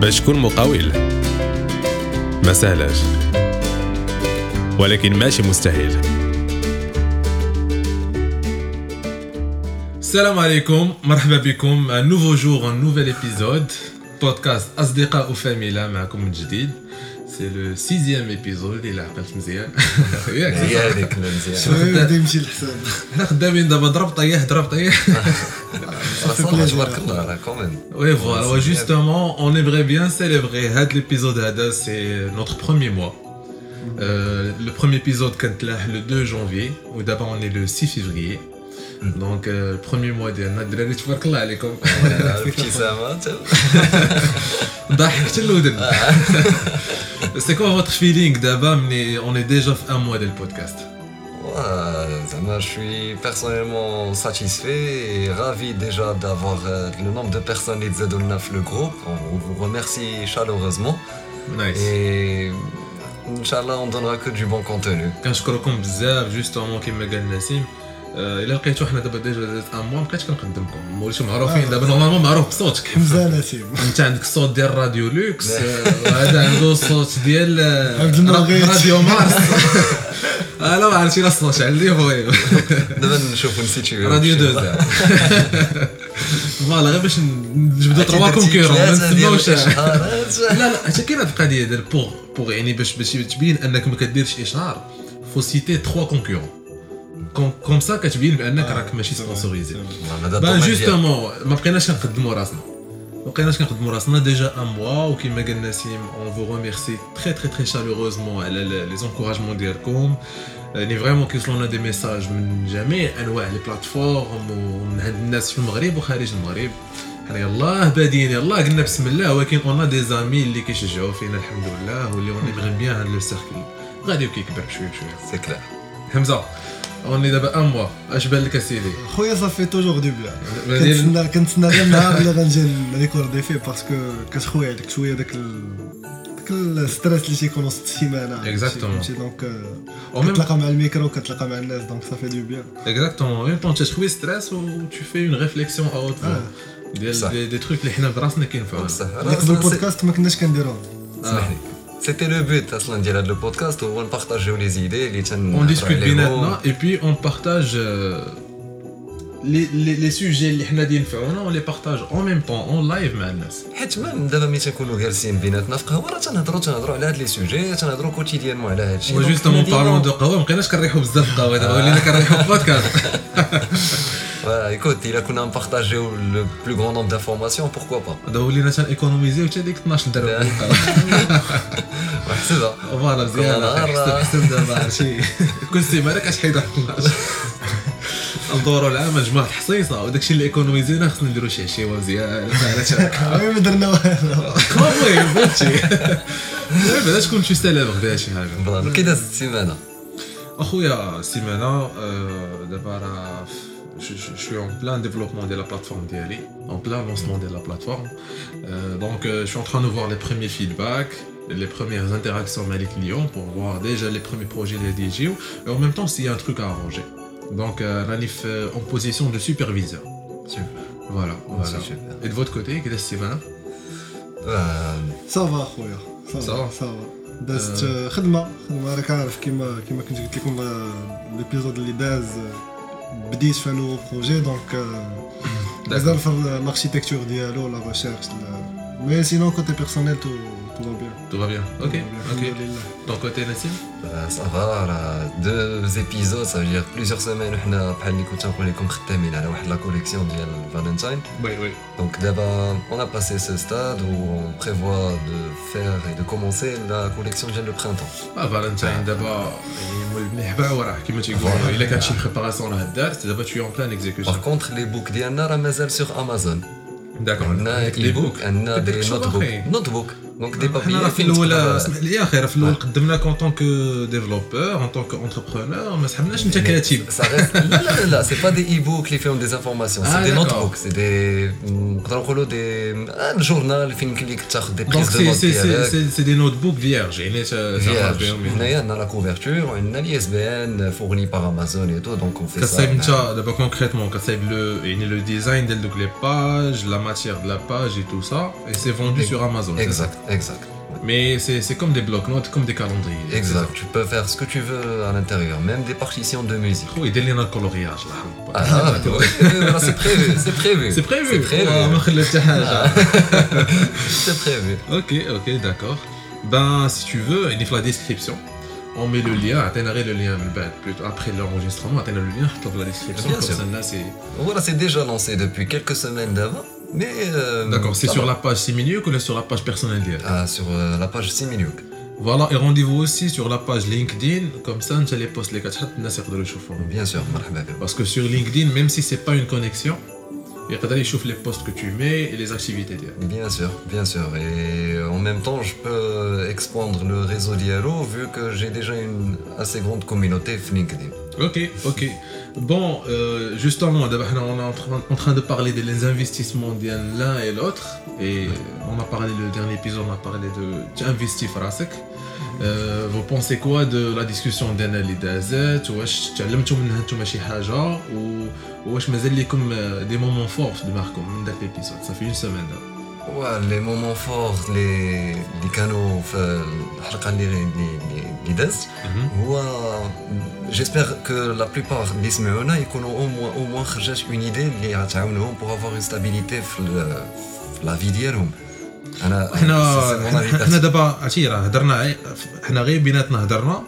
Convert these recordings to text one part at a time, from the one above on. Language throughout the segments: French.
باش تكون مقاول ما سهلاش ولكن ماشي مستحيل. السلام عليكم، مرحبا بكم. un nouveau jour, un nouvel épisode podcast أصدقاء وفاميلا معكم من جديد. سي لو 6e épisode إلا عقلت مزيان. ياك هذيك مزيان شنو يمشي الحساب. حنا خدامين دابا ضرب طيح تبارك الله راه كومين. Oui, voilà, justement, on aimerait bien célébrer l'épisode هذا, c'est notre premier mois. Le premier épisode كانت le 2 janvier, ou d'abord on est le 6 février. Donc le premier mois ديالنا الدراري تبارك الله عليكم. ابتسامه ضحكت الودن. C'est quoi votre feeling d'abord, mais on est déjà à un mois de le podcast. Je suis personnellement satisfait et ravi déjà d'avoir le nombre de personnes qui sont dans le groupe. On vous remercie chaleureusement. Nice. Et Inch'Allah, on donnera que du bon contenu. كنشكركم بزاف justement كما قال نسيم. الا لقيتو حنا دابا ديجا ان موا مابقيتش كنقدمكم، وليتو معروفين دابا نورمالمون معروف بصوتك. حمزه نسيم، انت عندك الصوت ديال راديو لوكس، وهذا عنده الصوت ديال راديو مارس. لا ما عرفتي لا الصوت عندي خويا. دابا نشوفوا نسيتي راديو 2 فوالا، غير باش نجبدوا 3 كونكورون ما نسماوش. لا حتى كاين هاد القضيه ديال بوغ يعني باش تبين انك ما كديرش اشهار، فو سيتي 3 كونكورون كوم سا كتبين بانك راك ماشي سبونسوريزي. جوستومون ما بقيناش كنخدموا راسنا ديجا ان موا، وكما قال نسيم اون فو ريميرسي تري شالوروزمون على لي زونكوراجمون ديالكم. يعني فريمون كيوصلونا دي ميساج من جميع انواع لي بلاتفورم ومن عند الناس في المغرب وخارج المغرب. حنا يلاه بادين يلاه قلنا بسم الله، ولكن اون دي زامي اللي كيشجعوا فينا الحمد لله، واللي اون بغي بيان هاد لو سيركل غادي وكيكبر بشويه سي كلير. حمزه اوني دابا ان موا، اش بان لك اسيدي؟ خويا صافي توجور دو بيان. كنتسنى غير النهار اللي غنجي نريكوردي فيه، باسكو كتخوي عليك شويه داك الستريس اللي تيكون وسط السيمانه. اكزاكتومون. دونك كتلاقى مع الميكرو وكتلاقى مع الناس، دونك صافي دو بيان. اكزاكتومون، ميم طون تخوي ستريس و تو في اون ريفليكسيون اوت ديال دي تروك اللي حنا براسنا كينفعوا. قبل البودكاست ما كناش كنديروهم. سمحلي. C'était le but اصلا ديال هذا البودكاست، هو نبارطاجيو لي زيدي اللي on discute بيناتنا et puis on partage les sujets اللي حنا دي ينفعونا، on les partage en même temps en live مع الناس. حيت من دابا ملي تنكونوا جالسين بيناتنا في قهوه راه تنهضروا على هاد لي سوجي، تنهضروا كوتيديانمون على هاد الشيء. وجوستومون بارلون دو قهوه، مابقيناش كنريحوا بزاف القهوه، دابا ولينا كنريحوا بودكاست. écoute, il a qu'on a partagé le plus grand nombre d'informations, pourquoi pas. دابا ولينا تنيكونوميزيو حتى ديك 12 درهم. محسبه فوالا مزيان. حسب دابا عرفتي كل سيمانه كتحيد 12. ندوروا العام نجمعوا الحصيصه، وداكشي اللي ايكونوميزينا خصنا نديروا شي عشيوه مزيان. ما درنا والو. المهم فهمتي بعدا تكون شي سالب غدا شي حاجه. كي دازت السيمانه اخويا؟ السيمانه دابا راه je suis en plein développement de la plateforme d'Ali, en plein lancement de la plateforme. Donc je suis en train de voir les premiers feedbacks, les premières interactions avec les clients pour voir déjà les premiers projets de DJO, et en même temps s'il y a un truc à arranger. Donc Ranif en position de superviseur. Super. Voilà. Super. Et de votre côté, qu'est-ce que c'est maintenant? Ça va خويا، ça va. دازت خدمه راك عارف، كيما كنت قلت لكم الابيزود اللي داز بديت في نو بروجي، دونك مازال في الاركيتكتور ديالو لا ريشيرش، مي سينون كوتي بيرسونيل تو Tout va bien. Ok. Ton côté Nassim? Ça va, deux épisodes, ça veut dire plusieurs semaines حنا بحال اللي كنت نقول لكم خدامين على واحد لا كوليكسيون ديال فالنتاين. Oui. Donc d'abord on a passé ce stade où on prévoit de faire et de commencer la collection ديال le printemps. فالنتاين دابا مليح وراه كيما تيقولوا الا كانت شي بريباراسيون راه دارت، دابا tu es en plein exécution. Par contre les books ديالنا راه مازال sur Amazon. D'accord. عندنا لي بوك، عندنا دي نوت بوك. دونك دي بابي حنا في الاول اسمح لي اخي في الاول قدمناك اون طونك ديفلوبور اون طونك انتربرونور ما سحبناش انت كاتب لا سي با دي اي بوك اللي فيهم دي انفورماسيون سي دي نوت بوك سي دي نقدروا نقولوا دي جورنال فين يمكن لك تاخذ دي بريز دو نوت ديالك سي دي نوت بوك فيرج يعني هنايا عندنا لا كوفرتور وعندنا لي اس بي ان فورني بار امازون اي تو دونك اون في كتصايب انت دابا كونكريتمون كتصايب لو يعني لو ديزاين ديال دوك لي باج لا ماتيير دو لا باج اي تو سا اي سي فوندو sur Amazon. Exact. Mais c'est comme des blocs-notes, comme des calendriers. Exact. Tu peux faire ce que tu veux à l'intérieur, même des partitions de musique. Oui, dès le coloriage là. C'est prévu. C'est prévu. C'est prévu. Ok, d'accord. Ben, si tu veux, il faut la description. On met le lien, atteindrait le lien après l'enregistrement, atteindrait le lien dans la description. Bien sûr. Là, voilà, c'est déjà lancé depuis quelques semaines d'avant. Mais d'accord, c'est sur la page Siminiuk ou sur la page personnelle d'hier? Sur la page Siminiuk. Voilà, et rendez-vous aussi sur la page LinkedIn, comme ça, tu les postes les 4 Bien sûr, marhaba. Parce que sur LinkedIn, même si c'est pas une connexion, il y a les posts que tu mets et les activités d'hier. Bien sûr. Et en même temps, je peux expandre le réseau d'Yalo vu que j'ai déjà une assez grande communauté sur LinkedIn. Ok. Bon, justement, on est en train de parler des investissements de l'un et l'autre. Et on a parlé, le dernier épisode, on a parlé de investir Frasek. Vous pensez quoi de la discussion d'Anna Lidazet? Wesh تعلمتوا منها نتوما شي حاجة واش مازال لكم des moments forts de Marco من داك l'épisode? Ça fait une semaine là. Ouais, les moments forts اللي كانوا في الحلقة اللي دازت هو j'espère que la plupart اللي سمعونا يكونوا au moins خرجت une idée اللي غتعاونهم pour avoir une stabilité في la vie ديالهم. حنا دابا عرفتي راه هضرنا حنا غير بيناتنا هضرنا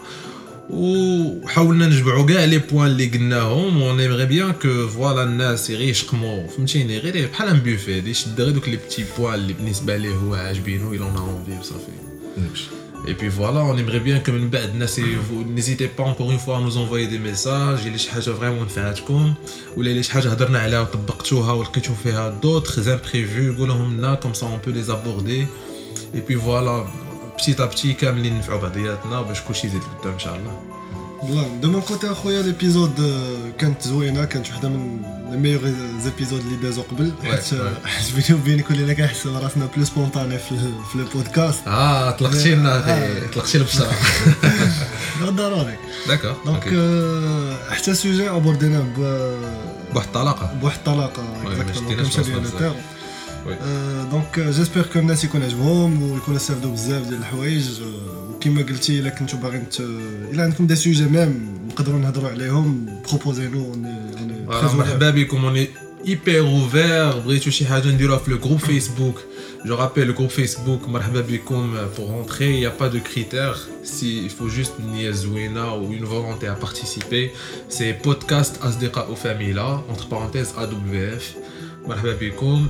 وحاولنا نجمعوا كاع لي بوين اللي قلناهم و نيمغي بيان كو فوالا الناس غير يشقموا فهمتيني غير بحال ان بوفي يشد غير دوك لي بتي بوين اللي بالنسبه ليه هو عاجبينو الا اون اونفي وصافي. Et puis voilà, on aimerait bien que n'hésitez pas encore une fois à nous envoyer des messages. Il y a des choses vraiment نفعتكم ولا اللي شي حاجه هضرنا عليها وطبقتوها ولقيتوا فيها d'autres imprévus قولهم لنا comme ça on peut les aborder. Et puis voilà, petit à petit كاملين نفعوا بعضياتنا باش كلشي يزيد لقدام ان شاء الله. والله دو مون كوتي اخويا ليبيزود كانت زوينه كانت وحده من لي ميور زيبيزود اللي دازو قبل حيت بيني وبينك ولينا كنحس راسنا بلو سبونطاني في البودكاست. طلقتي لنا طلقتي البشره ضروري. داكور دونك حتى سوجي ابوردينا بواحد الطلاقه اكزاكتومون كمشى لينا التيرم. دونك جيسبر كو الناس يكون عجبهم ويكونوا استافدوا بزاف ديال الحوايج وكما قلتي الا كنتو باغيين الا عندكم دي سوجي ميم نقدروا نهضروا عليهم بروبوزينو مرحبا بكم. اوني hyper ouvert بغيتو شي حاجه نديروها في لو جروب فيسبوك. جو رابيل لو جروب فيسبوك مرحبا بكم pour rentrer. Il y a pas de critères, il faut juste une زوينه ou une volonté à participer. C'est podcast أصدقاء وفاميلا entre parenthèses AWF. مرحبا بكم.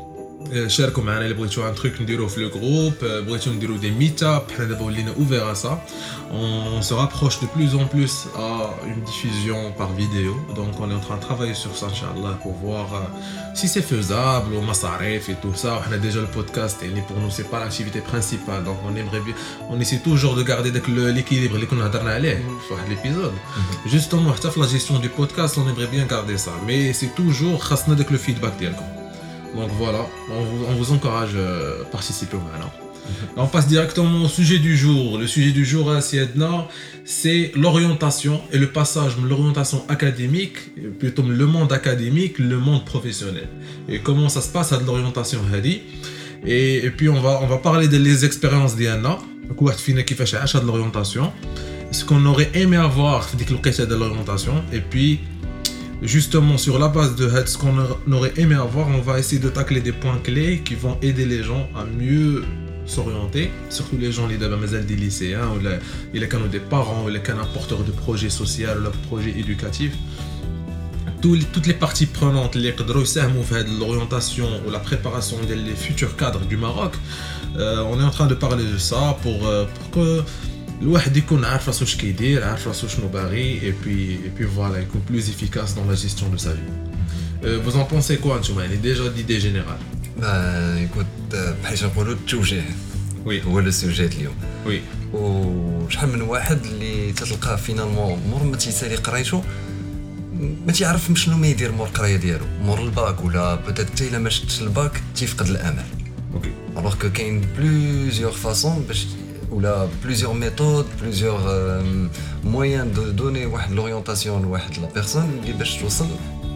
شاركوا معنا اللي بغيتوا ان تروك نديروه في لو جروب بغيتوا نديروا دي ميت اب حنا دابا ولينا اوفير ا سا on se rapproche de plus en plus à une diffusion par vidéo donc on est en train de travailler sur ça inchallah pour voir si c'est faisable ou masarif et tout ça on a déjà le podcast et pour nous c'est pas l'activité principale donc on aimerait bien on essaie toujours de garder l'équilibre اللي كنا هضرنا عليه في واحد l'épisode justement حتى في la gestion du podcast on aimerait bien garder ça mais c'est toujours خاصنا داك le feedback ديالكم. Donc voilà, on vous encourage à participer au maintenant. On passe directement au sujet du jour. Le sujet du jour à Siedna, c'est l'orientation et le passage de l'orientation académique, plutôt le monde académique, le monde professionnel. Et comment ça se passe à de l'orientation hadi. Et puis on va parler des expériences d'Iana. Quoi fine qui fait chez de l'orientation. Ce qu'on aurait aimé avoir de l'orientation et puis justement sur la base de ce qu'on aurait aimé avoir, on va essayer de tacler des points clés qui vont aider les gens à mieux s'orienter, surtout les gens des lycéens ou des parents ou les porteurs de projets sociaux ou de projets éducatifs. Toutes les parties prenantes les l'orientation ou la préparation des futurs cadres du Maroc, on est en train de parler de ça pour que الواحد يكون عارف راسو اش كيدير عارف راسو شنو باغي et puis voilà يكون plus efficace dans la gestion de sa vie. Vous en pensez quoi نتوما يعني déjà d'idée générale? écoute بحال نقولوا التوجيه وي هو لو سوجي اليوم وي وشحال من واحد اللي تتلقاه فينالمون مور ما تيسالي قرايته ما تيعرف شنو ما يدير مور القرايه ديالو مور الباك ولا بوتيت حتى الا ما شدش الباك تيفقد الامل اوكي alors que كاين بلوزيور فاصون باش ولا بلوزيور ميثود بلوزيور موين دو دوني واحد لورينتاسيون لواحد لا بيرسون اللي باش توصل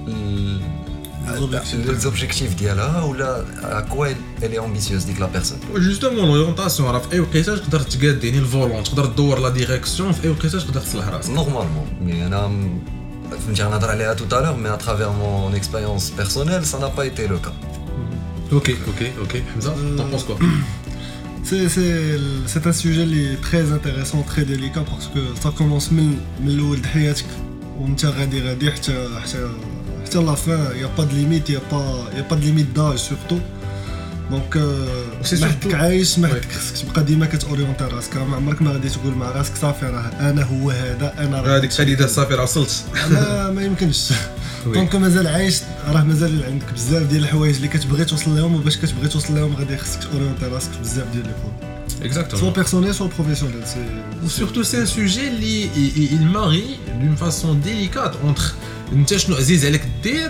للزوبجيكتيف ديالها ولا اكوا الي امبيسيوز ديك لا بيرسون جوستومون لورينتاسيون راه في اي وقيته تقدر تقاد يعني الفولون تقدر تدور لا ديريكسيون في اي وقيته تقدر تصلح راسك نورمالمون مي انا فهمتي غنهضر عليها tout à l'heure mais à travers mon expérience personnelle ça n'a pas été le cas. Ok, Hamza, t'en penses quoi? C'est un sujet qui est très intéressant, très délicat parce que ça commence من الأول د حياتك وانت غادي حتى la fin, il y a pas de limite, il y a pas de limite d'âge surtout. دونك محتك عايش محتك خصك تبقى ديما كتورينتي راسك ما عمرك ما غادي تقول مع راسك صافي راه انا هو هذا انا راه هذيك القضيه صافي راه وصلت ما يمكنش دونك مازال عايش راه مازال عندك بزاف ديال الحوايج اللي كتبغي توصل لهم وباش كتبغي توصل لهم غادي خصك تورينتي راسك بزاف ديال لي بوين exactement soit personnel soit professionnel surtout c'est un sujet اللي il marie d'une façon délicate entre انت شنو عزيز عليك دير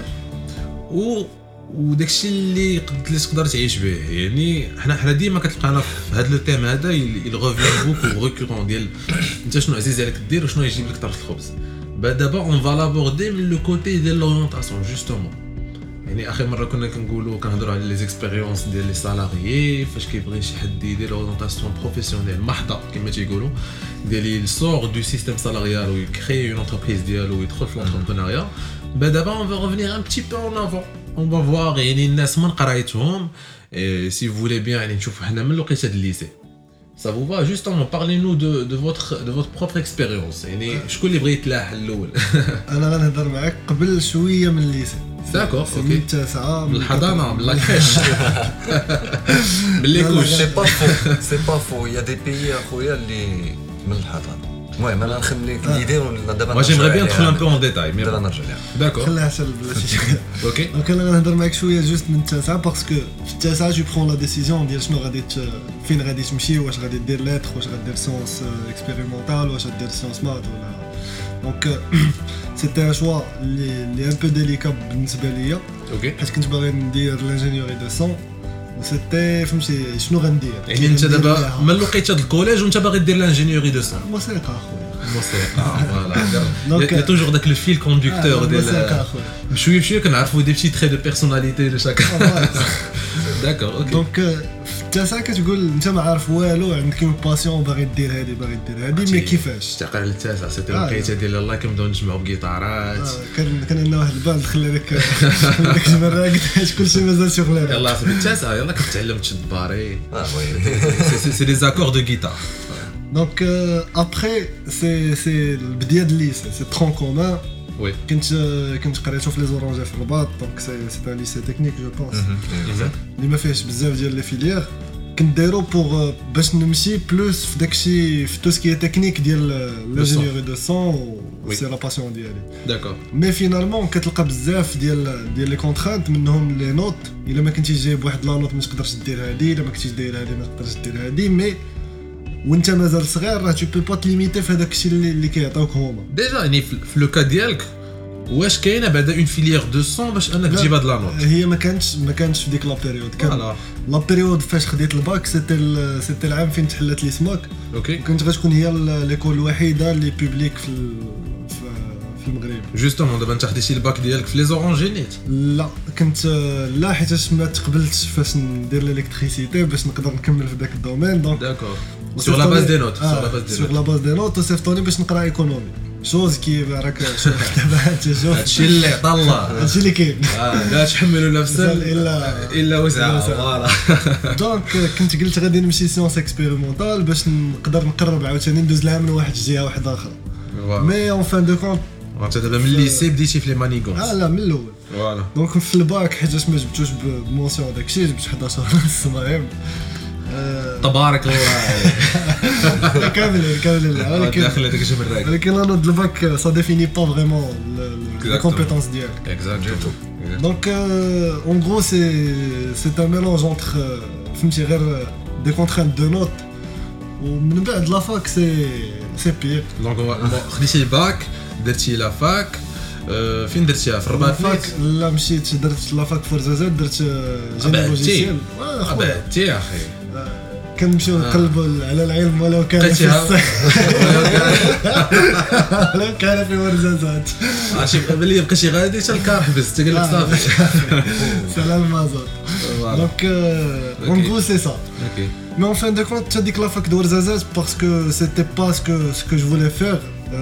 وداكشي اللي تقدر تعيش به يعني حنا ديما كتلقانا في هذا لو تيم هذا يغوفيان بوكو ريكورون ديال انت شنو عزيز عليك دير وشنو يجيب لك طرف الخبز دابا اون فا لابوردي من لو كوتي ديال لورينتاسيون جوستومون يعني اخر مره كنا كنهضروا على لي زيكسبيريونس ديال لي سالاريي فاش كيبغي شي حد يدير لورينتاسيون بروفيسيونيل محضه كما تيقولوا ديال السور دو سيستيم سالاريال ويكري اون انتربريز ديالو ويدخل في لونتربرونيا دابا اون فا ريفينير ان بتي بو اون افون on va voir يعني الناس من قرايتهم si vous voulez bien يعني نشوفوا حنا من الوقيته ديال الليسي ça vous va justement parlez-nous de votre propre expérience يعني شكون اللي بغى يتلاح الاول انا غنهضر معاك قبل شويه من الليسي داكور اوكي من التاسعه من الحضانه من لاكريش من لي كوش سي با فو يا دي بيي اخويا اللي من الحضانه المهم انا نخليك ليدي دابا moi j'aimerais bien entrer un peu en détail mais دابا نرجع لها d'accord خليها حتى بلاتي اوكي دونك انا غنهضر معاك شويه جوست من التاسعه باسكو في التاسعه جو برون لا ديسيزيون ديال شنو غادي فين غادي تمشي واش غادي دير لاتر واش غادير سيونس اكسبيريمونطال واش غادير سيونس مات ولا دونك سيتي ان شوا لي ان بو ديليكا بالنسبه ليا اوكي حيت كنت باغي ندير لانجينيوري دو سون وسيتي فهمتي شنو غندير يعني انت دابا من الوقيته ديال الكوليج وانت باغي دير لانجينيوري دو سون موسيقى اخويا موسيقى يا توجور داك لو فيل كوندكتور ديال بشويه كنعرفوا دي بتي تري دو بيرسوناليتي دو شاك داكور اوكي دونك في التاسعه كتقول انت ما عارف والو عندك اون باسيون باغي دير هادي مي كيفاش تعقل التاسع سيتي الوقيته ديال الله كنبداو نجمعوا بكيطارات كان عندنا واحد الباند خلى داك الجمره قلت كلشي مازال شغل يلاه في التاسع يلاه كتعلم تشد باري سي دي زاكور دو غيتار دونك ابري سي البدايه ديال الليسي سي ترون كومان وي كنت قريتو في لي زورانجي في الرباط دونك سي ان ليسي تكنيك جو بونس اللي ما فيهش بزاف ديال لي فيليير كنت دايرو بوغ باش نمشي بلوس في داكشي في تو سكي تكنيك ديال لانجينيوري دو سون سي لا باسيون ديالي داكور مي فينالمون كتلقى بزاف ديال لي كونترانت منهم لي نوت الا ما كنتيش جايب واحد لا نوت ما تقدرش دير هادي الا ما كنتيش داير هادي ما تقدرش دير هادي مي وانت مازال صغير راه تو بو با تليميتي في هذاك الشيء اللي كيعطيوك هما ديجا يعني في لو كا ديالك واش كاينه بعدا اون فيليير دو سون باش انك تجيب هاد لا نوت هي ما كانتش في ديك لا بيريود كان لا بيريود فاش خديت الباك سيتي العام فين تحلت لي سماك اوكي كنت غتكون هي ليكول الوحيده اللي بوبليك في المغرب جوستومون دابا انت خديتي الباك ديالك في لي زورانجينيت لا كنت لا حيت ما تقبلتش فاش ندير الالكتريسيتي باش نقدر نكمل في داك الدومين دونك داكور sur la base des notes sur la base des notes وصيفطوني باش نقرا ايكونومي شوز كي راك دابا انت شوف هادشي اللي عطا الله هادشي اللي كاين لا تحملوا نفسا الا وسعها فوالا دونك كنت قلت غادي نمشي سيونس اكسبيريمونطال باش نقدر نقرب عاوتاني ندوز لها من واحد الجهه واحده اخرى مي اون فان دو كونت انت دابا من الليسي بديتي في لي مانيغونس لا من الاول فوالا دونك في الباك حيت ما جبتوش بمونسيون داكشي جبت 11 ونص المهم تبارك الله كامل ولكن داخل هذاك الجبل راك ولكن لا نوت الباك سا ديفيني با فريمون لي كومبيتونس ديالك اكزاكتومون دونك اون غرو سي ان ميلونج انتر فهمتي غير des contraintes de notes. ومن بعد لا فاك سي بير. دونك خديتي الباك درتي لا فاك فين درتيها في الرباط فاك لا مشيت درت لا فاك فرزازات درت جيني لوجيسيال بعدتي يا اخي كنمشيو نقلبوا على العلم ولو كان في ولو كان في ورزازات عرفتي بلي بقيتي غادي حتى الكار حبس قال لك صافي سلام المازوت دونك اون غرو سي سا اوكي mais en fin de compte tu as dit que la fac de Ouarzazate parce que c'était pas ce que je voulais faire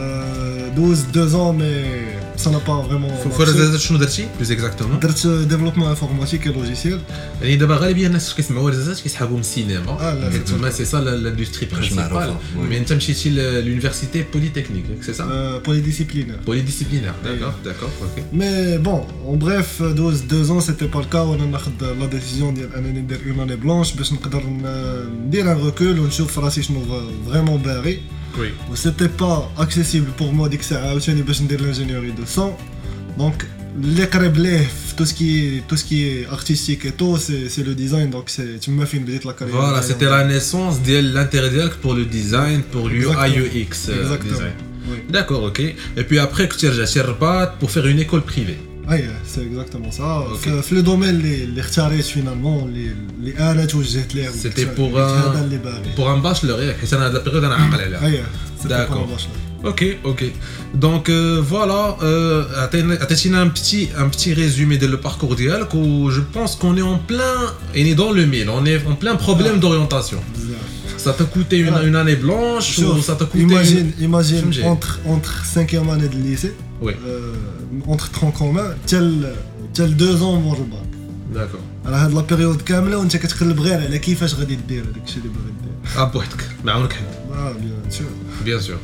2 ans mais ça n'a pas vraiment في Ouarzazate شنو درتي بلوز اكزاكتومون درت ديفلوبمون انفورماتيك لوجيسيال يعني دابا غالبيه الناس كيسمعوا Ouarzazate كيسحابوا من السينما تما سي سا لاندستري برينسيبال مي انت مشيتي للونيفرسيتي بوليتكنيك سي سا بوليديسيبلينير داكور اوكي mais bon en bref 2 ans c'était pas le cas وانا ناخذ لا ديسيزيون ديال انني ندير اون اني بلانش باش نقدر ندير ان ريكول ونشوف راسي شنو فريمون باغي وي و سيتي با اكسيسيبل بور مو ديك الساعه عاوتاني باش ندير لانجينيوري دو سون دونك اللي قريب ليه في تو سكي ارتستيك اي تو سي لو ديزاين دونك سي تما فين بديت لا كارير فوالا سيتي لا نيسونس ديال لانتيري ديالك بور لو ديزاين بور اليو اي يو اكس ديزاين داكور اوكي اي بي ابري كنت رجعتي للرباط بور فير اون ايكول بريفي اي سي اكزاكتومون سا في لو دومين اللي اختاريت فينالمون اللي انا توجهت ليه سيتي بور ان باشلور ياك حيت انا هاد لا بيريود انا عاقل عليها اي داكور اوكي دونك فوالا عطيتينا ان بتي ريزومي ديال لو باركور ديالك و جو بونس كون اي اون بلان يعني دون لو ميل اون اي اون بلان بروبليم دورينتاسيون ça t'a coûté une année blanche ou ça t'a coûté imagine entre 5e année de lycée entre tronc commun tel 2 ans مور الباك داكور على هاد لا بيريود كامله وانت كتقلب غير على كيفاش غادي دير هذاك الشيء اللي باغي دير بوحدك ما عاونك حد بيان سور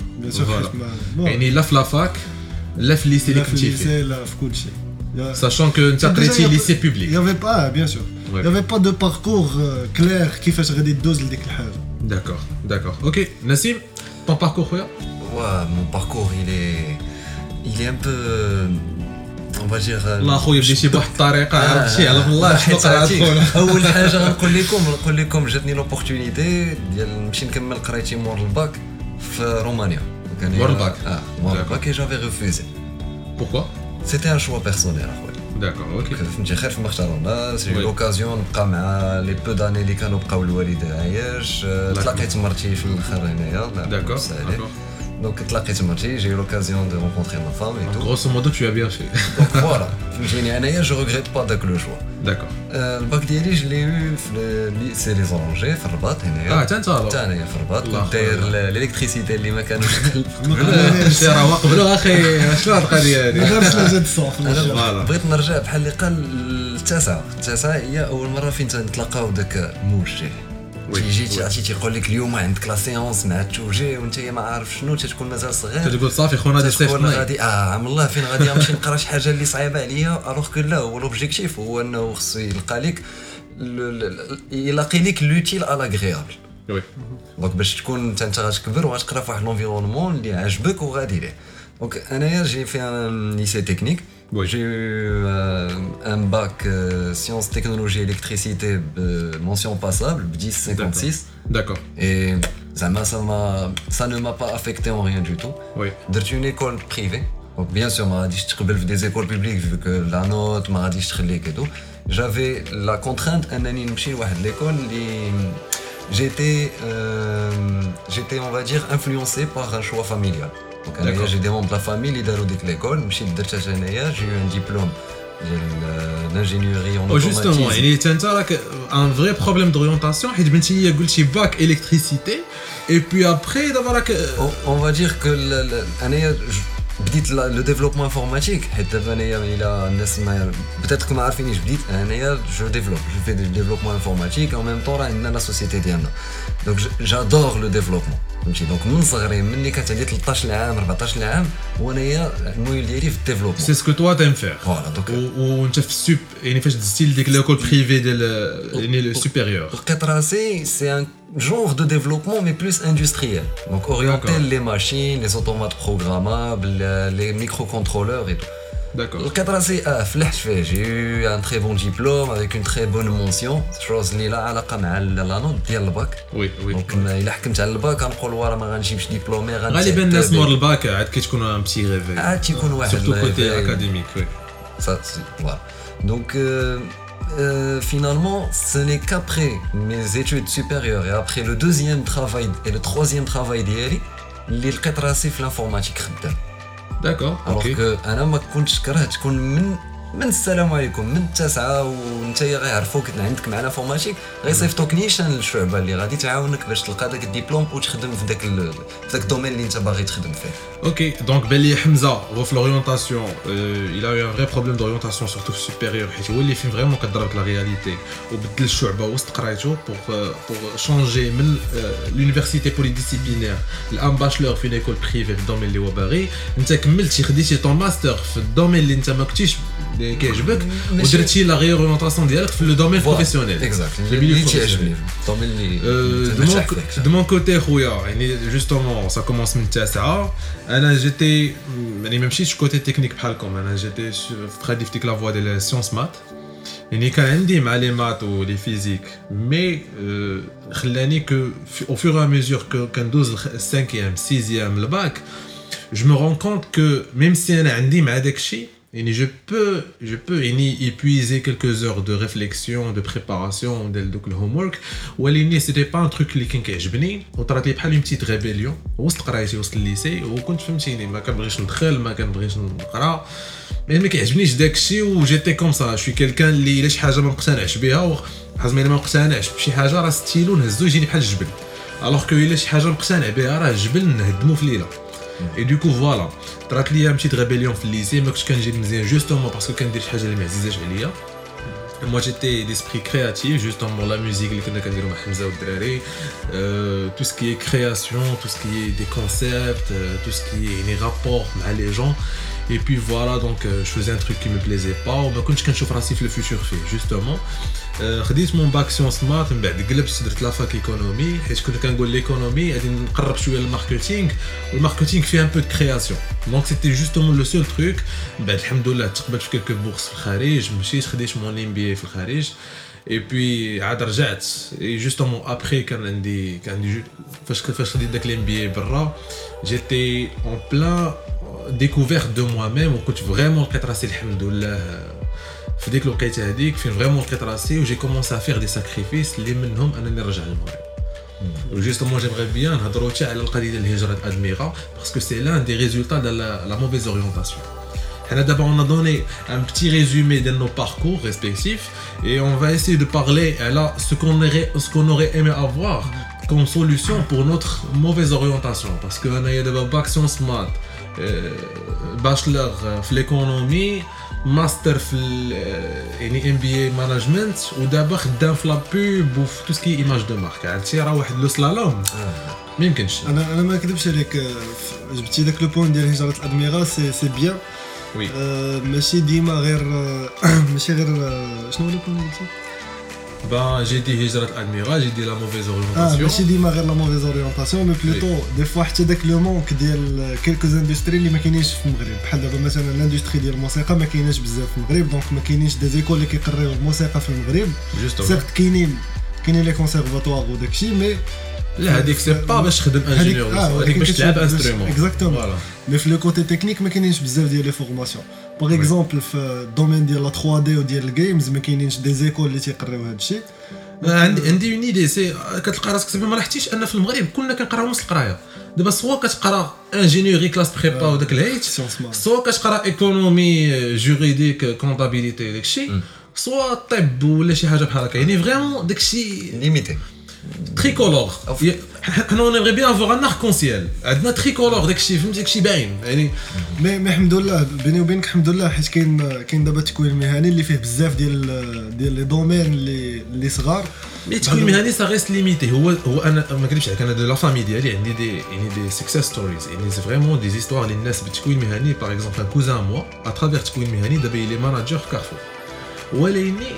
يعني لا في لافاك لا في الليسي اللي كنتي فيه لا في كل شيء sachant que انت قريتي ليسي بوبليك il y avait pas bien sûr il y avait pas de parcours clair كيفاش غادي دوز لديك الحاجه d'accord ok Nassim ton parcours خويا mon parcours il est un peu on va dire الله خويا بديتي بواحد الطريقه عرفتي على الله شنو قرات خويا اول حاجه نقول لكم جاتني لوبورتونيتي ديال نمشي نكمل قرايتي مور الباك في رومانيا مور الباك مور الباك et j'avais refusé pourquoi c'était un choix personnel اخويا داكور اوكي فهمتي خير فما اختارونا سي لوكازيون نبقى مع لي بو داني اللي كانوا بقاو الوالدين عايش تلاقيت مرتي في الاخر هنايا داكور donc تلاقيت مرتي j'ai eu l'occasion de rencontrer ma femme et tout grosso modo tu as bien fait donc voilà فهمتيني انايا je regrette pas داك لو شوا داكور الباك ديالي je l'ai eu في ليسي لي زورونجي في الرباط هنايا حتى انايا في الرباط كنت داير الالكتريسيتي اللي ما كانوش شي راه قبلوا اخي شنو هاد القضيه هادي غير جات الصوف بغيت نرجع بحال اللي قال التاسعه هي اول مره فين تنتلاقاو داك الموجه جيتي عرفتي تيقول لك اليوم عندك لا سيونس مع التوجيه وانت ما عارف شنو تتكون مازال صغير تقول صافي خونا دي سيف غادي عام الله فين غادي نمشي نقرا شي حاجه اللي صعيبه عليا الوغ كو لا هو لوبجيكتيف هو انه خصو يلقى لك يلاقي لك لوتيل على اغريابل وي دونك باش تكون انت غتكبر وغتقرا في واحد لونفيرونمون اللي عاجبك وغادي ليه دونك انايا جي في ان ليسي تكنيك j'ai eu un bac sciences technologie électricité mention passable 1056 d'accord et ça ne m'a pas affecté en rien du tout درت une école privée donc bien sûr ما غاديش تقبل في des écoles publiques vu que la note ما غاديش تخليك et tout j'avais la contrainte انني نمشي لواحد l'école اللي j'étais on va dire influencé par un choix familial donc j'ai des membres de la famille اللي داروا ديك l'école مشيت درت انايا j'ai eu un diplôme ديال l'ingénierie en automatisme justement يعني انت راك un vrai problème d'orientation حيت بنتي هي قلتي باك électricité et puis après دابا راك on va dire que انايا بديت لو ديفلوبمون انفورماتيك حيت دابا انايا الى الناس ما بيتيت ما عارفينيش بديت انايا جو في دي ديفلوبمون انفورماتيك او ميم طون راه عندنا لا سوسيتي ديالنا دونك جادور لو ديفلوبمون فهمتي دونك من صغري مني كانت عندي 13 عام 14 عام وانايا الميول ديالي في الديفلوبمون سي سكو توا تايم فير فوالا دونك وانت في السوب يعني فاش دزتي لديك ليكول بريفي ديال يعني لو سوبيريور لقيت راسي سي ان genre de développement mais plus industriel donc orienté les machines les automates programmables les microcontrôleurs et tout D'accord. الكطراسي فلحت فيه جي ان تري بون ديبلوم افيك اون تري بون مونسيون شوز اللي لا علاقه مع لا نوت ديال الباك وي دونك الا حكمت على الباك غنقول ورا ما غنجيبش ديبلومي غالبا الناس مور الباك عاد كتكون ان بتي ريفي عاد تيكون واحد سورتو كوتي اكاديميك وي voilà donc finalement ce n'est qu'après mes études supérieures et après le deuxième travail et le troisième travail ديالي اللي لقيت راسي في الانفورماتيك خدام داكور اوكي انا ما كنتش كرهت تكون من السلام عليكم من التاسعه وانت غيعرفوك عندك مع الانفورماتيك غيصيفطوك نيشان للشعبه اللي غادي تعاونك باش تلقى داك الدبلوم وتخدم في داك الدومين اللي انت باغي تخدم فيه. اوكي دونك بالي حمزه هو في لورينتاسيون il a eu un vrai problème d'orientation surtout supérieur حيت هو اللي فين فريمون كضربك لا رياليتي وبدل الشعبه وسط قرايته pour changer من l'université polydisciplinaire الان باشلور في ليكول بريفي في الدومين اللي هو باغي انت كملتي خديتي طون ماستر في الدومين اللي انت ما كنتيش كيعجبك ودرتي لا ريورينتاسيون ديالك في لو دومين بروفيسيونيل اكزاكت اللي تيعجبني الدومين اللي دو مون كوتي خويا يعني جوستومون سا كومونس من التاسعه انا جيتي يعني ما مشيتش كوتي تكنيك بحالكم انا جيتي خديت في ديك لا فوا ديال سيونس مات يعني كان عندي مع لي مات ولي فيزيك مي خلاني كو او فور ا ميزور كندوز 5e 6e الباك je me rends compte que même si انا عندي مع داكشي يعني je peux يعني épuiser quelques heures de réflexion de préparation ديال دوك الهومورك ولكن سيتي با ان تروك اللي كان كيعجبني وطرات لي بحال اون بتيت ريبيليون وسط قرايتي وسط الليسي وكنت فهمتيني ما كنبغيش ندخل ما كنبغيش نقرا ما كيعجبنيش داكشي وجيتي كوم سا شوي كلكان اللي الا شي حاجه ما مقتنعش بها حزمي ما مقتنعش بشي حاجه راه ستيلو نهزو يجيني بحال الجبل الوغ كو الا شي حاجه مقتنع بها راه الجبل نهدمو في ليله et du coup voilà طرات لي بتيت ريبيليون في الليسي ما كنتش كنجيب مزيان جوستومون باسكو كندير شي حاجه اللي ما عزيزاش عليا moi j'étais d'esprit créatif justement la musique اللي كنا كنديرو مع حمزه والدراري tout ce qui est création tout ce qui est des concepts tout ce qui est les rapports مع les gens et puis voilà donc je faisais un truc qui me plaisait pas وما كنتش كنشوف راسي في الفيتور فيه justement خديت مون باك سيونس مات من بعد قلبت درت لافاك ايكونومي حيت كنت كنقول ليكونومي غادي نقرب شويه للماركتينغ والماركتينغ فيه ان بو دو كرياسيون دونك سيتي جوستومون لو سول تروك بعد الحمد لله تقبلت في كلكو بورس في الخارج مشيت خديت مون ام بي في الخارج اي بي عاد رجعت جوستومون ابري كان عندي فاش خديت داك الام بي برا جيتي اون بلان découverte de moi-même وكنت فريمون لقيت راسي الحمد لله في ديك الوقيته هذيك فين فريمون لقيت راسي وجي كومونسي افير دي ساكريفيس اللي منهم انني نرجع للمغرب وجوستومون جيمغي بيان نهضروا حتى على القضيه ديال الهجره ادميرا باسكو سي لان دي ريزولتا ديال لا موفيز اورينتاسيون حنا دابا اون دوني ان بتي ريزومي ديال نو باركور ريسبكتيف اي اون فا اسيي دو بارلي على سو كون اوري ايمي افوار comme solution pour notre mauvaise orientation parce que انايا دابا باك سيونس مات باشلر في ليكونومي ماستر في يعني ام بي اي مانجمنت ودابا خدام في لا بوب وفي تو سكي ايماج دو مارك عرفتي راه واحد لو سلالوم ما يمكنش انا ما كذبش عليك جبتي داك لو بوين ديال هجره الادميرا سي بيان وي ماشي ديما غير ماشي غير شنو هو لو بوين قلتي Ben, j'ai dit هجرة الادميرال, j'ai dit la mauvaise orientation. ماشي ديما غير لا موفيز اورينتاسيون مي بلوتو دي فوا حتى داك لو مونك ديال كيلكوز اندستري اللي ما كاينينش في المغرب بحال دابا مثلا الاندستري ديال الموسيقى ما كايناش بزاف في المغرب دونك ما كاينينش دي زيكول اللي كيقريو الموسيقى في المغرب سيرت كاينين لي كونسيرفاتوار وداكشي مي لا هذيك سي با باش تخدم انجينيور هذيك باش تلعب انسترومون اكزاكتومون مي في لو كوتي تكنيك ما كاينينش بزاف ديال لي فورماسيون باغ اكزومبل في الدومين ديال لا 3 دي وديال الجيمز ما كاينينش دي زيكول اللي تيقريو هذا الشيء عندي اون ايدي سي كتلقى راسك صافي ما لاحظتيش ان في المغرب كلنا كنقراو نفس القرايه دابا سوا كتقرا انجينيوري كلاس بريبا وداك الهيت سوا كتقرا ايكونومي جوريديك كونطابيليتي داكشي سوا طب ولا شي حاجه بحال هكا يعني فريمون داكشي ليميتي تريكولور حنا نبغي بيان افوار ان اركونسيال عندنا تريكولور داكشي فهمتي داكشي باين يعني مي الحمد لله بيني وبينك الحمد لله حيت كاين دابا التكوين المهني اللي فيه بزاف ديال لي دومين اللي صغار مي التكوين المهني سا ريست ليميتي هو انا ما كنبش عليك انا دو لا فامي ديالي عندي دي سكسيس ستوريز يعني سي فريمون دي زيستوار للناس بالتكوين المهني باغ اكزومبل ان كوزان موا ا ترافير التكوين المهني دابا لي ماناجر في كارفور ولكن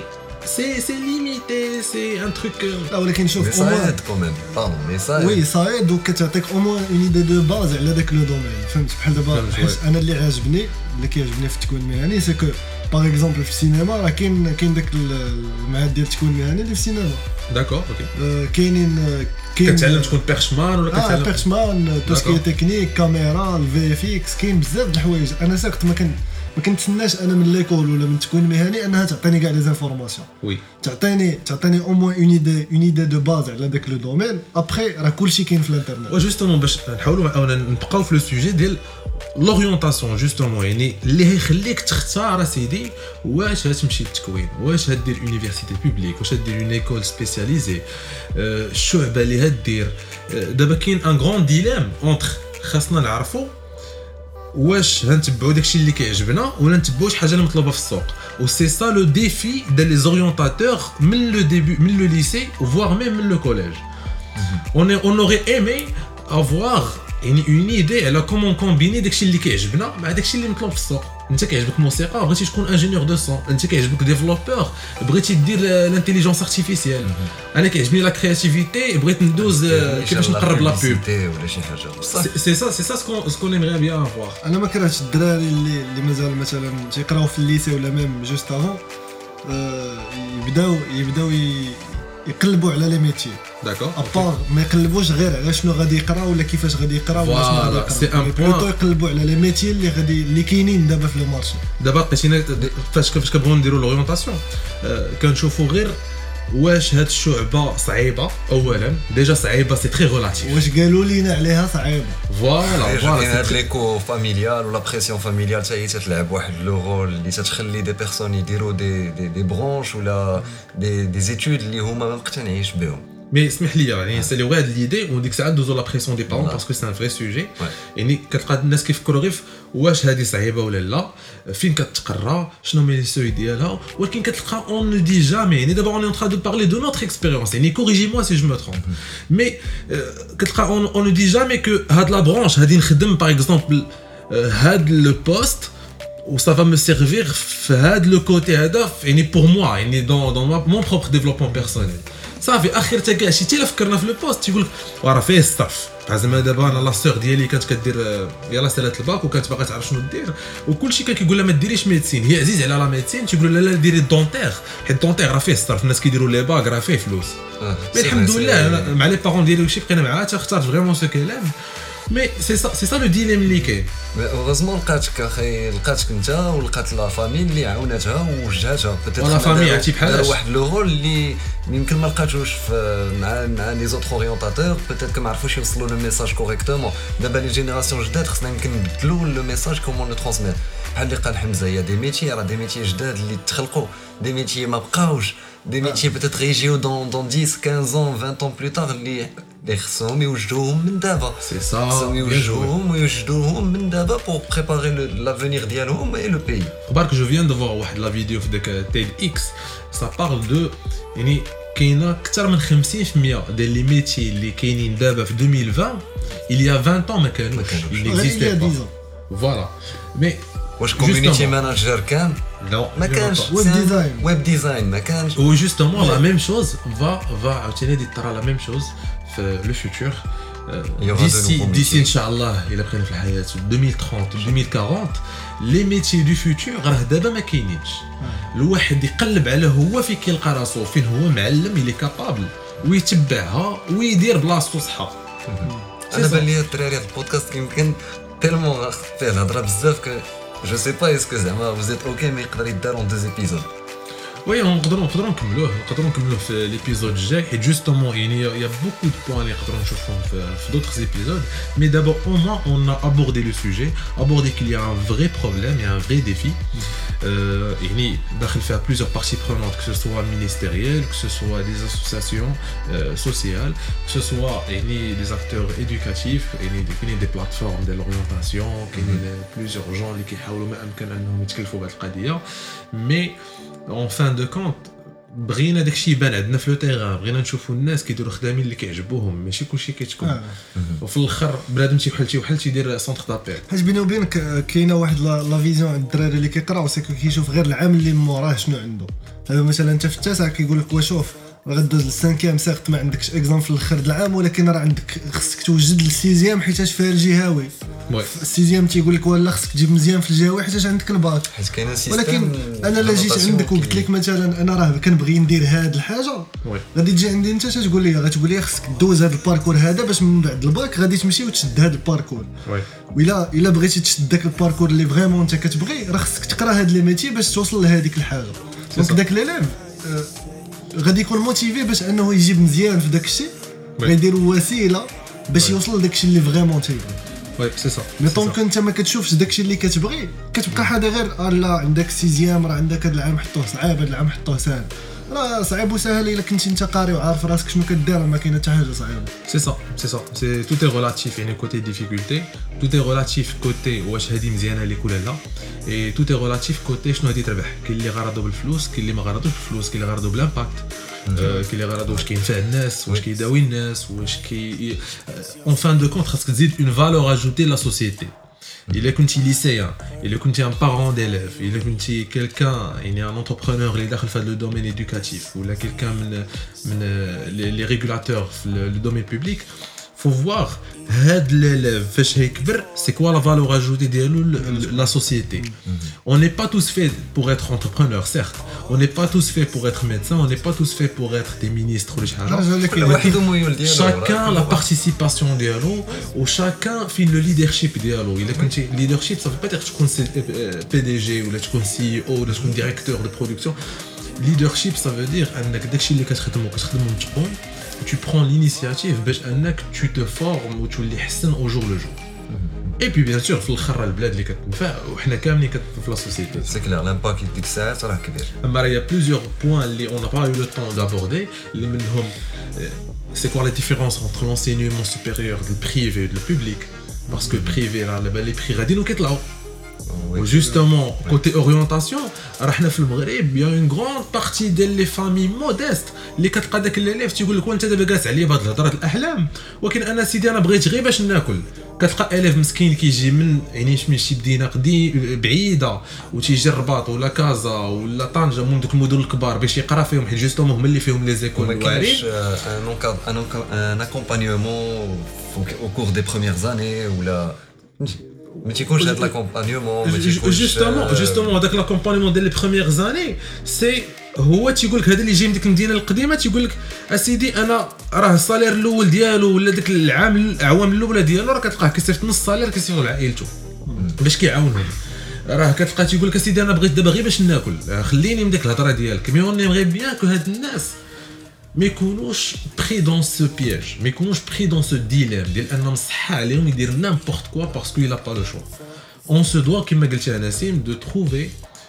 c'est limité, c'est un truc لا ولكن شوف Mais ça aide quand même. Pardon, mais ça aide. وي ça aide وكتعطيك au moins une idée de base على داك لو دومين فهمت بحال دابا حيت انا اللي عاجبني اللي كيعجبني في التكوين المهني سي كو باغ اكزومبل في السينما راه كاين داك المعهد ديال التكوين المهني اللي في السينما داكور اوكي كاين كتعلم تكون بيرشمان ولا كتعلم بيرشمان توسكي تكنيك كاميرا الفي اف اكس كاين بزاف د الحوايج انا ساكت ما كنتسناش انا من ليكول ولا من التكوين المهني انها تعطيني كاع لي زانفورماسيون وي تعطيني او موان اون ايدي دو باز على داك لو دومين ابخي راه كلشي كاين في الانترنت وجوستومون باش نحاولوا نبقاو في لو سوجي ديال لورينتاسيون جوستومون يعني اللي هيخليك تختار اسيدي واش غتمشي للتكوين واش هدير يونيفرسيتي بوبليك واش هدير اون ايكول سبيسياليزي الشعبه اللي هدير دابا كاين ان غران ديلام اونتر خاصنا نعرفوا واش غنتبعوا داكشي اللي كيعجبنا ولا نتبعوا شي حاجه اللي مطلوبه في السوق و سي سا لو ديفي ديال لي زورينتاتور من لو ديبي من لو ليسي فوار ميم من لو كوليج on aurait aimé avoir une idée على كومون كومبيني داكشي اللي كيعجبنا مع داكشي اللي مطلوب في السوق انت كيعجبك موسيقى بغيتي تكون انجينيور دو سون انت كيعجبك ديفلوبور بغيتي دير لانتيليجونس ارتيفيسيال انا كيعجبني لا كرياتيفيتي بغيت ندوز كيفاش نقرب لا بوب ولا شي حاجه سي سا سكون ايمري بيان افوار انا ما كرهتش الدراري اللي مازال مثلا تيقراو في الليسي ولا ميم جوست افون يبداو يقلبوا على لي ميتي داكور ابار ما يقلبوش غير على شنو غادي يقرا ولا كيفاش غادي يقرا ولا شنو غادي يقرا سي ان بوين يقلبوا على لي ميتي اللي كاينين دابا في لو مارشي دابا لقيتينا فاش كنبغيو نديروا لورينتاسيون كنشوفوا غير واش هاد الشعبه صعيبه اولا ديجا صعيبه سي تري ريلاتيف واش قالوا لينا عليها صعيبه فوالا هاد ليكو فاميليال ولا بريسيون فاميليال حتى هي تلعب واحد لو رول اللي تتخلي دي بيرسون يديروا دي برونش ولا دي زيتود اللي هما ما مقتنعينش بهم مي اسمح لي يعني نساليو غير هاد ليدي وديك الساعه ندوزو لا بريسيون دي بارون باسكو سي ان فري سوجي يعني كتلقى الناس كيفكروا غير واش هذه صعيبه ولا لا فين كتقرا شنو هما لي سوي ديالها ولكن كتلقى اون نو دي جامي يعني دابا اون ترا دو بارلي دو نوتر اكسبيريونس يعني كوريجي موا سي جو مو ترومب مي كتلقى اون نو دي جامي كو هاد لا برونش هادي نخدم باغ اكزومبل هاد لو بوست و ça va me servir في هاد لو كوتي هذا يعني بور موا يعني دون مون بروبر ديفلوبمون بيرسونيل صافي اخر حتى كاع شي تيلا فكرنا في لو بوست تيقول لك راه فيه الصف زعما دابا انا لا سور ديالي كانت كدير يلاه سالات الباك وكانت باغا تعرف شنو دير وكلشي كان كيقول لها ما ديريش ميديسين هي عزيز على لا ميديسين تيقولوا لا ديري الدونتير حيت الدونتير راه فيه الصرف الناس كيديروا لي باك راه فيه فلوس مي الحمد لله مع لي بارون ديالي وشي بقينا معاها تختار فريمون سو كيلام مي سي سا لو ديليم اللي كاين اوغوزمون لقاتك اخي لقاتك انت ولقات لا فامي اللي عاوناتها ووجهاتها بوتيتر لا فامي عرفتي بحال واحد لو رول اللي يمكن ما لقاتوش مع لي زوتر اورينتاتور بوتيتر ما عرفوش يوصلوا لو ميساج كوريكتومون دابا لي جينيراسيون جداد خصنا يمكن نبدلوا لو ميساج كومون لو ترانسميت بحال اللي قال حمزه هي دي ميتي راه دي ميتي جداد اللي تخلقوا دي ميتي ما بقاوش دي ميتي بوتيتر يجيو دون 10 15 20 ans بلو تار اللي خصهم يوجدوهم من دابا سي سا خصهم يوجدوهم من دابا بور بريباري لافونير ديالهم اي لو بي خبارك جو فيان دو فوار واحد لا فيديو في داك تيد اكس سا بارل دو يعني كاينه اكثر من 50% ديال لي ميتي اللي كاينين دابا في 2020 il y a 20 ans ما كانوش il n'existait pas voilà mais واش كوميونيتي ماناجر كان non ما كانش ويب ديزاين ما كانش و جوستومون لا ميم شوز va عاوتاني دي ترى لا ميم شوز في لو فيتور d'ici ان شاء الله الا بقينا في الحياه 2030 2040 لي ميتي دو فيتور راه دابا ما كاينينش الواحد يقلب على هو فين كيلقى راسو فين هو معلم اللي كابابل ويتبعها ويدير بلاصتو صحه انا بان لي الدراري هاد البودكاست يمكن تيلمون فيه الهضره بزاف ك جو سي با اسكو زعما vous êtes اوكي مي يقدر يدار اون 2 ايبيزود وي نقدروا نكملوه في ليبيزود الجاي حيت جوستومون يعني يا بوكو دو بوين اللي نقدروا نشوفهم في دوطخ ايبيزود مي دابا او موان اون ا ابوردي لو سوجي ابوردي كيل يا ان فري بروبليم يا ان فري ديفي يعني داخل فيها بليزيور بارتي برونونت كو سوا مينيستيريال كو سوا دي اسوسياسيون سوسيال كو سوا يعني دي اكتور ايدوكاتيف يعني كاينين دي بلاتفورم ديال لورينتاسيون كاينين بليزيور جون اللي كيحاولوا ما امكن انهم يتكلفوا بهذه القضيه مي en fin de compte بغينا داكشي يبان عندنا في لو تيغان بغينا نشوفوا الناس كيديروا خدامين اللي كيعجبوهم ماشي كلشي كيتكون وفي الاخر بنادم شي وحل تيدير سونتر دابيل حيت بيني وبينك كاينه واحد لا فيزيون عند الدراري اللي كيقراو سيكو كيشوف غير العام اللي موراه شنو عنده هذا مثلا انت في التاسع كيقول لك وشوف غدوز للسانكيام سيغت ما عندكش اكزام في الاخر د العام ولكن راه عندك خصك توجد للسيزيام حيتاش فيها الجهوي السيزيام تيقول لك ولا خصك تجيب مزيان في الجهوي حيتاش عندك الباك حيت كاين سيستم ولكن انا لا جيت عندك وقلت لك مثلا انا راه كنبغي ندير هاد الحاجه غادي تجي عندي انت تقول لي خصك دوز هاد الباركور هذا باش من بعد الباك غادي تمشي وتشد هاد الباركور وإلا بغيتي تشد داك الباركور اللي فريمون انت كتبغي راه خصك تقرا هاد لي ميتي باش توصل لهاديك الحاجه دونك داك ليليف غادي يكون موتيفي باش انه يجيب مزيان في داك الشيء غيديروا وسيله باش يوصل لداك الشيء اللي فريمون تيبغي وي سي سا مي طونك انت ما كتشوفش داك الشيء اللي كتبغي كتبقى حاجه غير لا عندك سيزيام راه عندك هذا العام حطوه صعيب هذا العام حطوه سهل راه صعيب وسهل الا كنتي انت قاري وعارف راسك شنو كدير ما كاينه حتى حاجه صعيبه سي تو تي ريلاتيف يعني كوتي ديفيكولتي تو تي ريلاتيف كوتي واش هذه مزيانه ليك ولا لا اي تو تي ريلاتيف كوتي شنو هذه تربح كاين اللي غرضو بالفلوس كاين اللي ما غرضوش بالفلوس كاين اللي غرضو بالامباكت كاين اللي غرضو واش كينفع الناس واش كيداوي الناس واش كي اون فان دو كونت خاصك تزيد اون فالور اجوتي لا سوسيتي إلا كنتي ليسيان إلا كنتي ان بارون ديليف إلا كنتي كيلكان يعني ان انتربرونور اللي داخل في هذا لو دومين éducatif ولا كيلكان من لي ريغولاتور في لو دومين بوبليك faut voir هاد l'élève فاش هيكبر c'est quoi la valeur ajoutée ديالو la société on n'est pas tous faits pour être entrepreneur certes on n'est pas tous faits pour être médecin on n'est pas tous faits pour être des ministres ولا شي حاجه chacun la participation ديالو و chacun فين le leadership ديالو الا كنتي leadership ça veut pas dire تكون PDG ولا تكون CEO ولا تكون directeur de production leadership ça veut dire انك داكشي اللي كتخدمو متقون tu prends l'initiative باش انك tu te formes وتولي حسن au jour le jour et puis bien sûr في الاخر البلاد اللي كتنفع وحنا كاملين في لا سوسيتي سي كلير لامباكت ديك الساعات راه كبير اما راه يا بليزيور بوين اللي on n'a pas eu le temps d'aborder اللي منهم c'est quoi la différence entre l'enseignement supérieur du privé et du public parce que privé là les prix غاديين وكيطلعوا justement côté orientation راحنا في المغرب يا اون غراند بارتي ديال لي فامي موديست اللي كتلقى داك الليف تيقول لك وانت دابا جالس عليا بهاد الهضره الاحلام ولكن انا سيدي انا بغيت غير باش ناكل كتلقى الف مسكين كيجي من يعني من شي مدينه بعيده وتيجي الرباط ولا كازا ولا طنجه من دوك المدن الكبار باش يقرا فيهم حيت جوستومون هما اللي فيهم لي زيكول واعرين ان اكومبانيومون au cours des premières années ولا ما تيكونش هاد لاكومبانيومون ما تيكونش جوستومون هذاك لاكومبانيومون ديال لي بروميير زاني سي هو تيقول لك هذا اللي جاي من ديك المدينه القديمه تيقول لك اسيدي انا راه الصالير الاول ديالو ولا داك الاعوام الاولى ديالو راه كتلقاه كيصيفط نص الصالير كيصيفطو لعائلته باش كيعاونهم راه كتلقى تيقول لك اسيدي انا بغيت دابا غير باش ناكل خليني من ديك الهضره ديالك مي اون ايمغي بيان كو هاد الناس ما يكونوش بري دون سو بياج ما يكونوش بري دون سو ديليم ديال انه مصحى عليهم يدير نيمبورت كوا باسكو يلا با لو شوا اون سو دوا كيما قلتي نسيم دو تروفي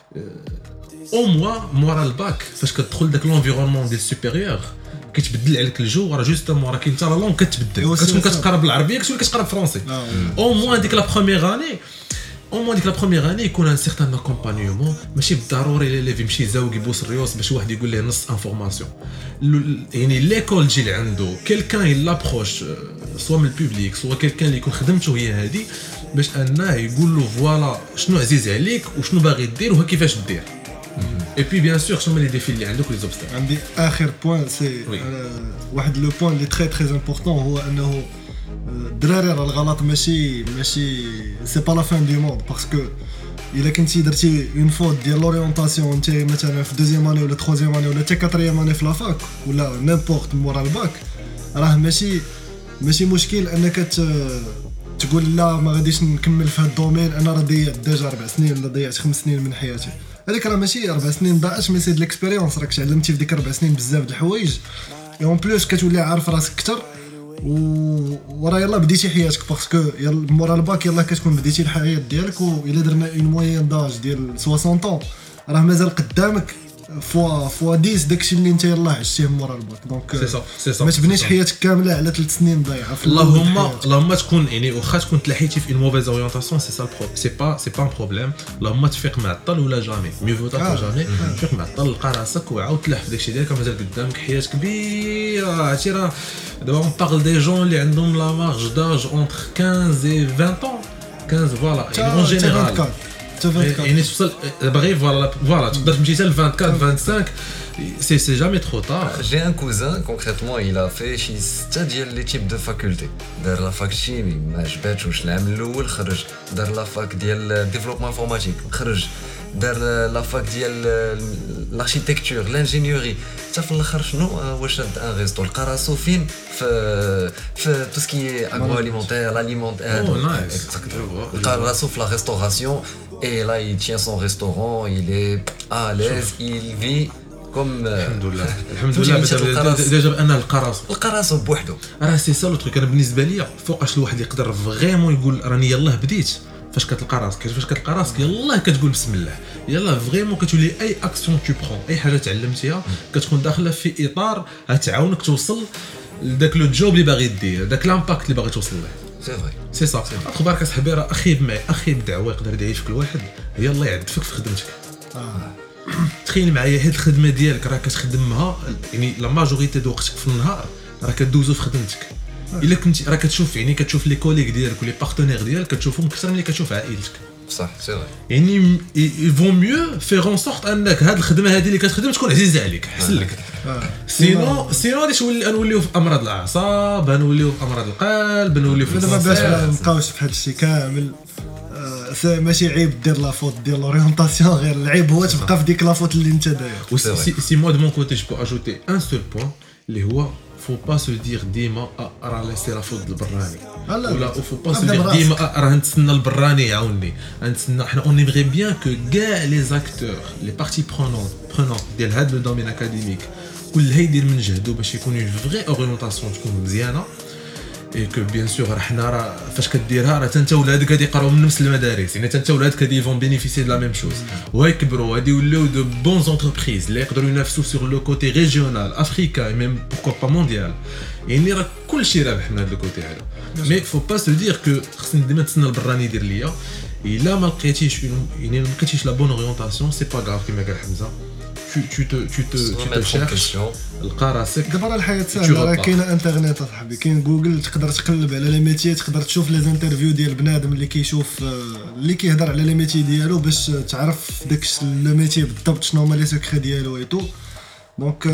او موا مورا الباك فاش كتدخل داك لونفيرونمون ديال سوبيريور كيتبدل عليك الجو راه جوستومون راه كاين حتى لا لونغ كتبدل كتكون كتقرا بالعربيه كتولي كتقرا بالفرنسي او موا ديك لا بروميير اني ديك لا بروميير اني يكون ان سيغتان اكومبانيومون ماشي بالضروري اللي يمشي زاوج يبوس الريوس باش واحد يقول ليه نص انفورماسيون يعني ليكول تجي عنده كيلكان يلابروش سوا من البوبليك سوا كيلكان اللي يكون خدمته هي هذه باش انه يقول له فوالا شنو عزيز عليك وشنو باغي دير وكيفاش دير اي بي بيان سور شنو لي ديفي اللي عندك لي زوبستاكل عندي اخر بوين سي واحد لو بوين اللي تري تري امبورطون هو انه الدراري راه الغلط ماشي سي با لا فان دو موند باسكو الا كنتي درتي اون فوت ديال لورينتاسيون انت مثلا في دوزيام اني ولا تروزيام اني ولا حتى كاتريام اني في لافاك ولا نيمبورت مورا الباك راه ماشي مشكل انك تقول لا ما غاديش نكمل في هذا الدومين انا راه ضيعت ديجا 4 سنين ولا ضيعت 5 سنين من حياتي هذيك راه ماشي 4 سنين ضاعت مي سي د ليكسبيريونس راك تعلمتي في ديك 4 سنين بزاف د الحوايج اون بلوس كتولي عارف راسك اكثر وراه يلا بديتي حياتك باسكو يلا مورا الباك يلا كتكون بديتي الحياه ديالك والا درنا اون موين داج ديال 60 طون راه مازال قدامك فوا 10 داكشي اللي انت يلاه عشتيه مورا الباك دونك سي صا ما تبنيش حياتك كامله على 3 سنين ضايعه اللهم تكون يعني واخا تكون تلحيتي في موفيز اورينتاسيون سي سا سي با ان بروبليم اللهم تفيق معطل ولا جامي ميو فو جامي تفيق معطل لقى راسك وعاود تلح في داكشي ديالك مازال قدامك حياه كبيره عرفتي راه دابا اون بارل دي جون اللي عندهم لا مارج داج اونتر 15 و 20 15 فوالا يعني اون جينيرال يعني توصل باغي فوالا تقدر تمشي حتى ل 24 25 c'est jamais trop tard. J'ai un cousin concrètement il a fait شي 6 ديال لي تيب دو فاكولتي دار لا فاك شيمي ما عجباتوش العام الاول خرج دار لا فاك ديال ديفلوبمون انفورماتيك خرج دار لا فاك ديال الاركيتكتور لانجينيوري حتى في الاخر شنو واش شاد ان ريستو لقى راسو فين في تو سكي اغرو اليمونتير لاليمونتير لقى راسو في لا ريستوراسيون et là il tient son restaurant il est à l'aise il vit comme الحمد لله ديجا بان القراصو بوحدو راه سي سا لو تروك انا بالنسبه ليا فوقاش الواحد يقدر فريمون يقول راني يلاه بديت فاش كتلقى راسك يلاه كتقول بسم الله يلاه فريمون كتولي اي اكسيون تو برون اي حاجه تعلمتيها كتكون داخله في اطار غتعاونك توصل لذاك لو جوب اللي باغي دير داك لامباكت اللي باغي توصل له سي صافي اخبارك اصاحبي راه اخي بدعوه يقدر يدعي فيك الواحد هي الله يعدفك في خدمتك تخيل معايا هاد الخدمه ديالك راه كتخدمها يعني لا ماجوريتي د وقتك في النهار راه كدوزو في خدمتك الا كنت راه كتشوف لي كوليغ ديالك ولي بارتنير ديالك كتشوفهم اكثر من اللي كتشوف عائلتك صح سي فري يعني يفو ميو فيغ اون سورت انك هاد الخدمه هادي اللي كتخدم تكون عزيزه عليك احسن لك سينو غادي نوليو في امراض الاعصاب نوليو في امراض القلب نوليو في دابا باش ما نبقاوش في هذا الشيء كامل ماشي عيب دير لا فوت ديال لورينتاسيون غير العيب هو تبقى في ديك لا فوت اللي انت داير سي مو دو مون كوتي جو بو اجوتي ان سول بوين اللي هو faut pas se dire ديما راه لاسي لا فوت البراني ولا faut pas se dire ديما راه نتسنى البراني يعاوني نتسنى حنا اون ايمري بيان كو كاع لي زاكتور لي بارتي برونون ديال هاد لو دومين اكاديميك كلها يدير من جهدو باش يكون اون فري اورينتاسيون تكون مزيانه اي كو بيان سور راه فاش كديرها راه انت ولادك غادي يقراو من نفس المدارس يعني انت ولادك غادي يفون بينيفيسي د لا ميم شوز ويكبروا غادي يوليو دو بون زونتربريز اللي يقدروا ينافسوا سور لو كوتي ريجيونال افريكان ميم بوركو با مونديال يعني راه كلشي رابح من هذا الكوتي هذا مي فو با سو دير كو خصني ديما نتسنى البراني يدير ليا الا ما لقيتيش يعني ما لقيتيش لا بون اورينتاسيون سي با غاف كيما قال حمزه tu te cherches لقى راسك دابا الحياه سهله راه كاينه انترنت اصاحبي كاين جوجل تقدر تقلب على لي ميتي تقدر تشوف لي انترفيو ديال بنادم اللي كيشوف اللي كيهضر على لي ميتي ديالو باش تعرف داك لو ميتي بالضبط شنو هما لي سيكري ديالو اي تو دونك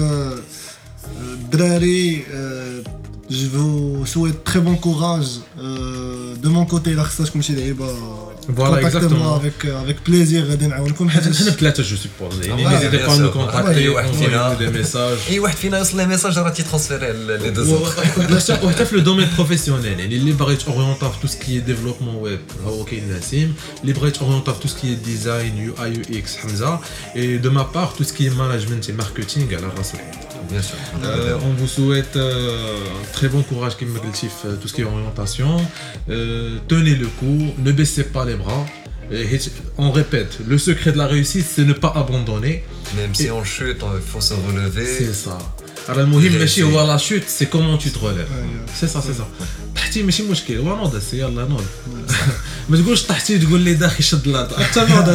الدراري je vous souhaite très bon courage de mon côté là خصكم شي لعيبه فوالا اكزاكتومون avec plaisir غادي نعاونكم حيت حنا بثلاثه جو سيبوز يعني نيزيتي با نو كونتاكتي اي واحد فينا دي ميساج اي واحد فينا يوصل لي ميساج راه تيترانسفيري لي دو زوطر وحتى في لو دومين بروفيسيونيل يعني اللي باغي تورينتا في تو سكي ديفلوبمون ويب هو كاين نسيم اللي باغي تورينتا في تو سكي ديزاين يو اي يو اكس حمزه اي دو ما بار تو سكي ماناجمنت اي ماركتينغ على الراس bien sûr on vous souhaite très bon courage comme قلتي في tout ce qui est orientation tenez le coup ne baissez pas les bras on répète le secret de la réussite c'est ne pas abandonner même si on chute il faut se relever c'est ça راه المهم ماشي هو لا شوت سي كومون تو تروليف سي سا طحتي ماشي مشكل هو نوض يلا نوض ما تقولش طحتي تقول لي داخل شد لاط حتى نوض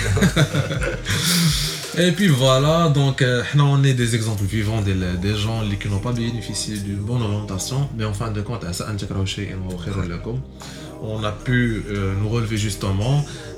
Et puis voilà, donc on est des exemples vivants des gens qui n'ont pas bénéficié d'une bonne orientation, mais en fin de compte, on a pu nous relever justement.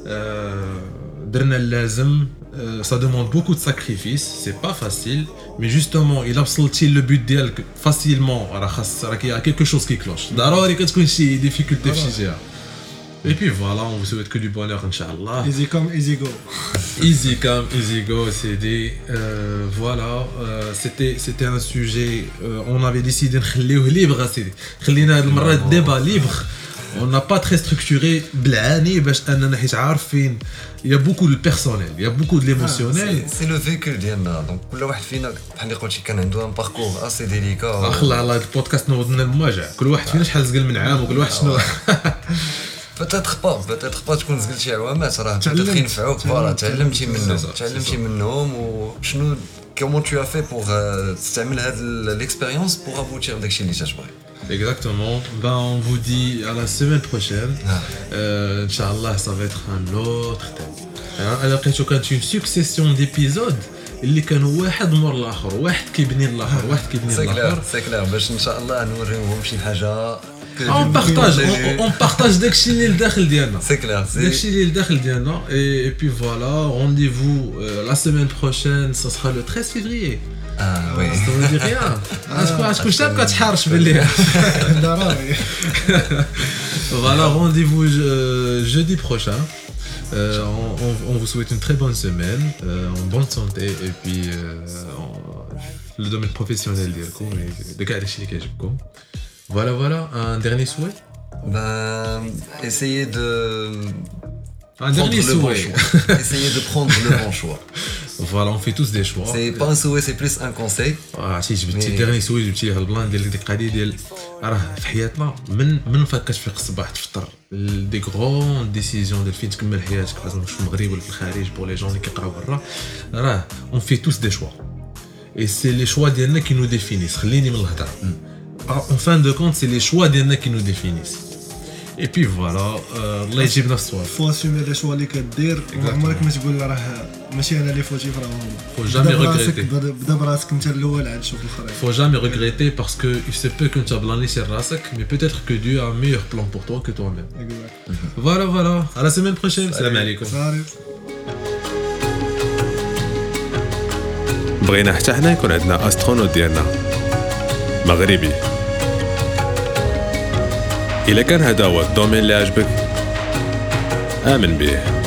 Ça demande beaucoup de sacrifices, c'est pas facile, mais justement, il a absolument le but d'elle facilement. Il y a quelque chose qui cloche. D'abord, il y a des difficultés physiques. Et puis voilà, on vous souhaite que du bonheur, Inch'Allah. Easy come, easy go. Easy come, easy go, c'est dit. Voilà, c'était un sujet, on avait décidé de le libre, خلينا المرة débat libre. On n'a pas très structuré, blani, باش أننا حيت عارفين. Il y a beaucoup de personnel, il y a beaucoup de l'émotionnel. C'est le véhicule ديالنا, donc كل واحد فينا بحال اللي قلتي كان عنده un parcours assez délicat. أخلا على البودكاست نوضنا المواجع. كل واحد فينا شحال زقل من عام وكل واحد شنو. بوتيتر با تكون زقلت شي عوامات راه بوتيتر ينفعوك فوالا تعلمتي منهم وشنو كومون تو افي بوغ تستعمل هاد ليكسبيريونس بوغ ابوتير داكشي اللي تتبغي. Exactement. Ben, on vous dit à la semaine prochaine. Inch'Allah, ça va être un autre thème. Alors, quand une succession d'épisodes, اللي كانوا واحد مور الاخر واحد كيبني الاخر واحد كيبني الاخر سيكلير باش ان شاء الله نوريوهم شي حاجه on partage داكشي اللي لداخل ديالنا داكشي اللي لداخل ديالنا et puis voilà rendez-vous la semaine prochaine ça sera le 13 février. Ah oui. Ça veut dire rien. Est-ce que شاب كتحارش باللي voilà rendez-vous jeudi prochain. On vous souhaite une très bonne semaine, en bonne santé et puis le domaine professionnel ديالكم de كاع داكشي اللي كيعجبكم. Voilà, un dernier souhait. Ben, essayez de un dernier souhait. Essayez de prendre le bon choix. Voilà, on fait tous des choix. C'est pas un souhait, c'est plus un conseil. عرفتي جبتي dernier souhait جبتي ليه البلان ديال ديك القضيه ديال راه في حياتنا من فاك كتفيق الصباح تفطر دي غرون ديسيزيون ديال فين تكمل حياتك لازم في المغرب ولا في الخارج بور لي جون اللي كيقراو برا راه on fait tous des choix et c'est les choix ديالنا qui nous définissent. خليني من الهضره. En fin de compte, c'est les choix ديالنا qui nous définissent. Et puis voilà, الله يجيبنا الصواب. فو اسومي لي شوا اللي كدير وعمرك ما تقول راه ماشي انا اللي فوتي فراه هما. Faut jamais regretter. بدا براسك انت الاول عاد شوف الاخرين. Faut jamais regretter parce que il se peut que tu بلاني sur راسك mais peut-être que Dieu a un meilleur plan pour toi que toi-même. Voilà, à la semaine prochaine. Salam alaikum. بغينا حتى حنا يكون عندنا استرونوت ديالنا مغربي. إلا كان هذا هو الدومين اللي عجبك آمن به.